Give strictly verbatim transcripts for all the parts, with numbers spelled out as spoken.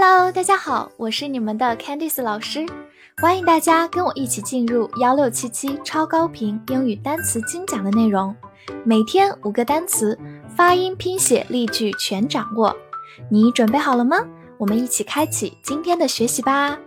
Hello， 大家好，我是你们的 Candice 老师，欢迎大家跟我一起进入一六七七超高频英语单词精讲的内容，每天五个单词，发音、拼写、例句全掌握。你准备好了吗？我们一起开启今天的学习吧。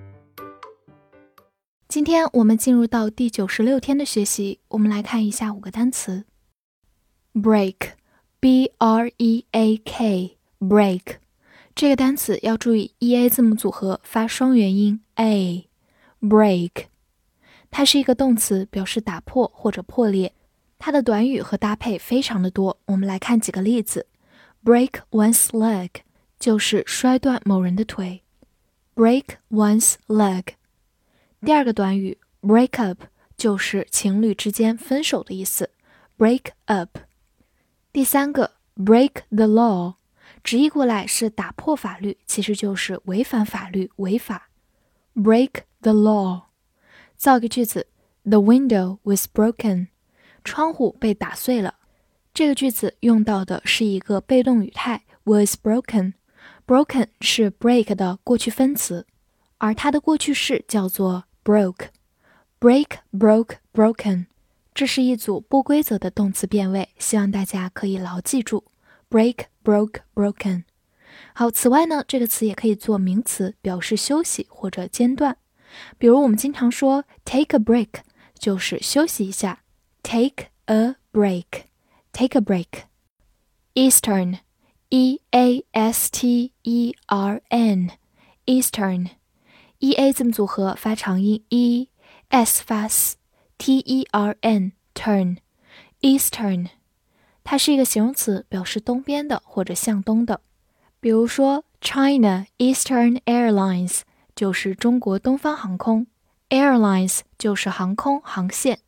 今天我们进入到第九十六天的学习，我们来看一下五个单词。Break, B R E A K, break。这个单词要注意 E A 字母组合发双元音 A, break。它是一个动词，表示打破或者破裂。它的短语和搭配非常的多，我们来看几个例子。Break one's leg 就是摔断某人的腿。Break one's leg。第二个短语 break up 就是情侣之间分手的意思。Break up。第三个 break the law。直译过来是打破法律，其实就是违反法律，违法。Break the law。造一个句子 The window was broken。窗户被打碎了。这个句子用到的是一个被动语态 was broken。Broken 是 break 的过去分词，而它的过去式叫做 broke。Break, broke, broken。这是一组不规则的动词变位，希望大家可以牢记住。Break, broke, broken。 好，此外呢，这个词也可以做名词，表示休息或者间断。比如我们经常说 take a break 就是休息一下。 Take a break, take a break。 Eastern, E A S T E R N, Eastern。 E A 字母组合发长音 E, S 发 S, T E R N, turn, Eastern。它是一个形容词，表示东边的或者向东的。比如说 China Eastern Airlines 就是中国东方航空， Airlines 就是航空航线。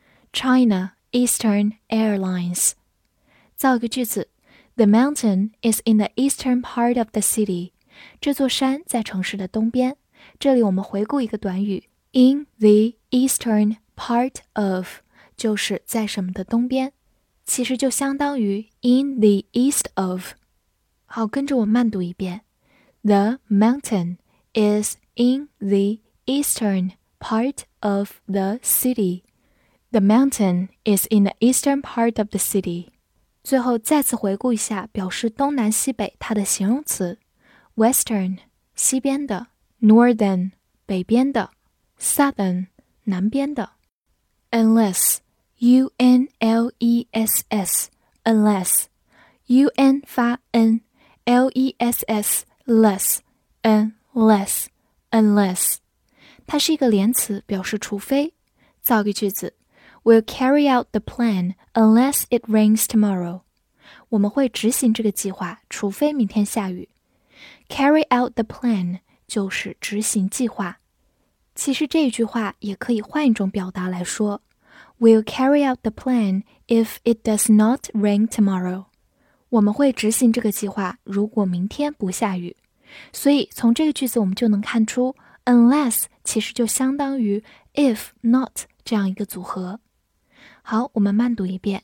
China Eastern Airlines。 造一个句子 The mountain is in the eastern part of the city。 这座山在城市的东边。这里我们回顾一个短语 in the eastern part of 就是在什么的东边，其实就相当于 in the east of。 好，跟着我慢读一遍。 The mountain is in the eastern part of the city. The mountain is in the eastern part of the city. 最后再次回顾一下表示东南西北它的形容词 Western 西边的， Northern 北边的， Southern 南边的。 Unless U N L E S S, unless, U N 发 N, L E S S, less, unless, unless。 它是一个连词，表示除非。造个句子 We'll carry out the plan unless it rains tomorrow。 我们会执行这个计划，除非明天下雨。 Carry out the plan 就是执行计划。其实这句话也可以换一种表达来说We'll carry out the plan if it does not rain tomorrow。 我们会执行这个计划，如果明天不下雨。所以从这个句子我们就能看出 unless 其实就相当于 if not 这样一个组合。好，我们慢读一遍。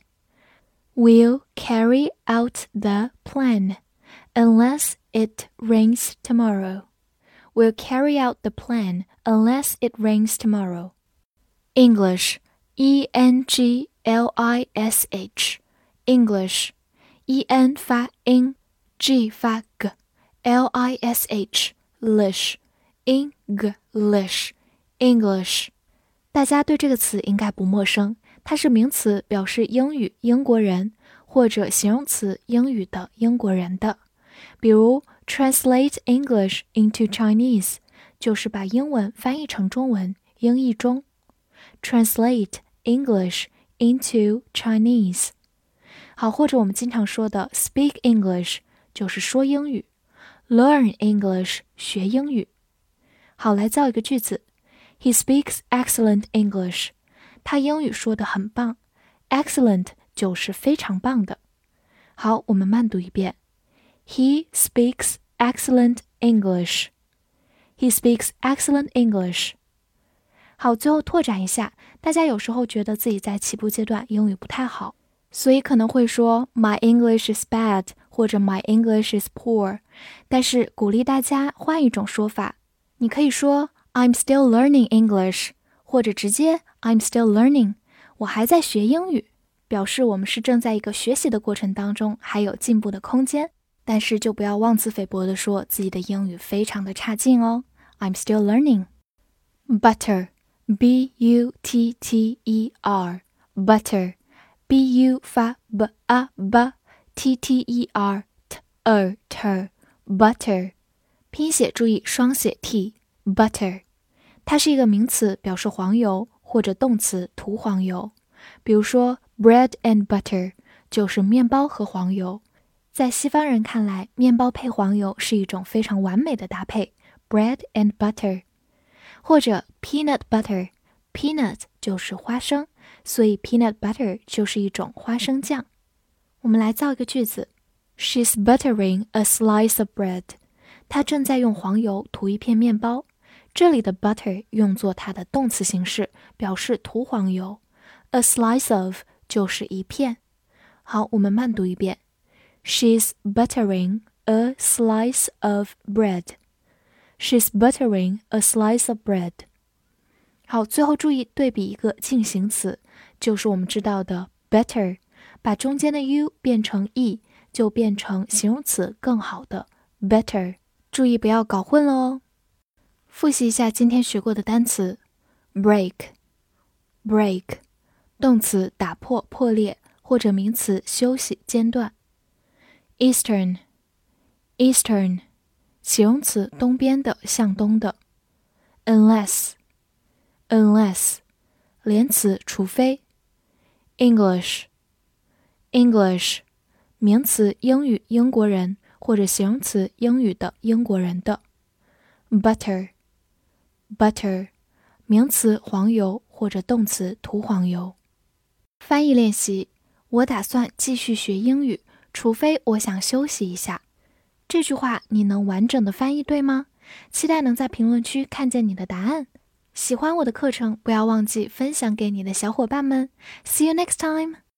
We'll carry out the plan unless it rains tomorrow. We'll carry out the plan unless it rains tomorrow. English E N G L I S H, English。 E N 发 in, G 发 g, L I S H, lish, English, English。 大家对这个词应该不陌生，它是名词，表示英语英国人，或者形容词英语的英国人的。比如 translate English into Chinese 就是把英文翻译成中文，英译中。 Translate English into Chinese。 好，或者我们经常说的 speak English 就是说英语， learn English 学英语。好，来造一个句子 He speaks excellent English。 他英语说得很棒， excellent 就是非常棒的。好，我们慢读一遍。 He speaks excellent English. He speaks excellent English. 好，最后拓展一下，大家有时候觉得自己在起步阶段英语不太好，所以可能会说 My English is bad 或者 My English is poor， 但是鼓励大家换一种说法，你可以说 I'm still learning English， 或者直接 I'm still learning， 我还在学英语，表示我们是正在一个学习的过程当中，还有进步的空间，但是就不要妄自菲薄地说自己的英语非常的差劲哦。 I'm still learning。 Butter B U T T E R Butter B U 发 b a b T T E R t er ter Butter， 拼写注意双写 t Butter， 它是一个名词，表示黄油，或者动词涂黄油。比如说 bread and butter 就是面包和黄油，在西方人看来，面包配黄油是一种非常完美的搭配 bread and butter。 或者 peanut butter， peanut 就是花生，所以 peanut butter 就是一种花生酱。我们来造一个句子， She's buttering a slice of bread， 她正在用黄油涂一片面包。这里的 butter 用作它的动词形式，表示涂黄油， a slice of 就是一片。好，我们慢读一遍， She's buttering a slice of bread。 She's buttering a slice of bread。 好，最后注意对比一个进行词，就是我们知道的 better， 把中间的 u 变成 e， 就变成形容词更好的 better， 注意不要搞混了哦。复习一下今天学过的单词 break break 动词打破破裂，或者名词休息间断。 Eastern Eastern 形容词东边的向东的。 Unless Unless 连词除非。 English English 名词英语英国人，或者形容词英语的英国人的。 Butter Butter 名词黄油，或者动词涂黄油。翻译练习，我打算继续学英语，除非我想休息一下。这句话你能完整的翻译对吗？期待能在评论区看见你的答案。喜欢我的课程，不要忘记分享给你的小伙伴们。See you next time!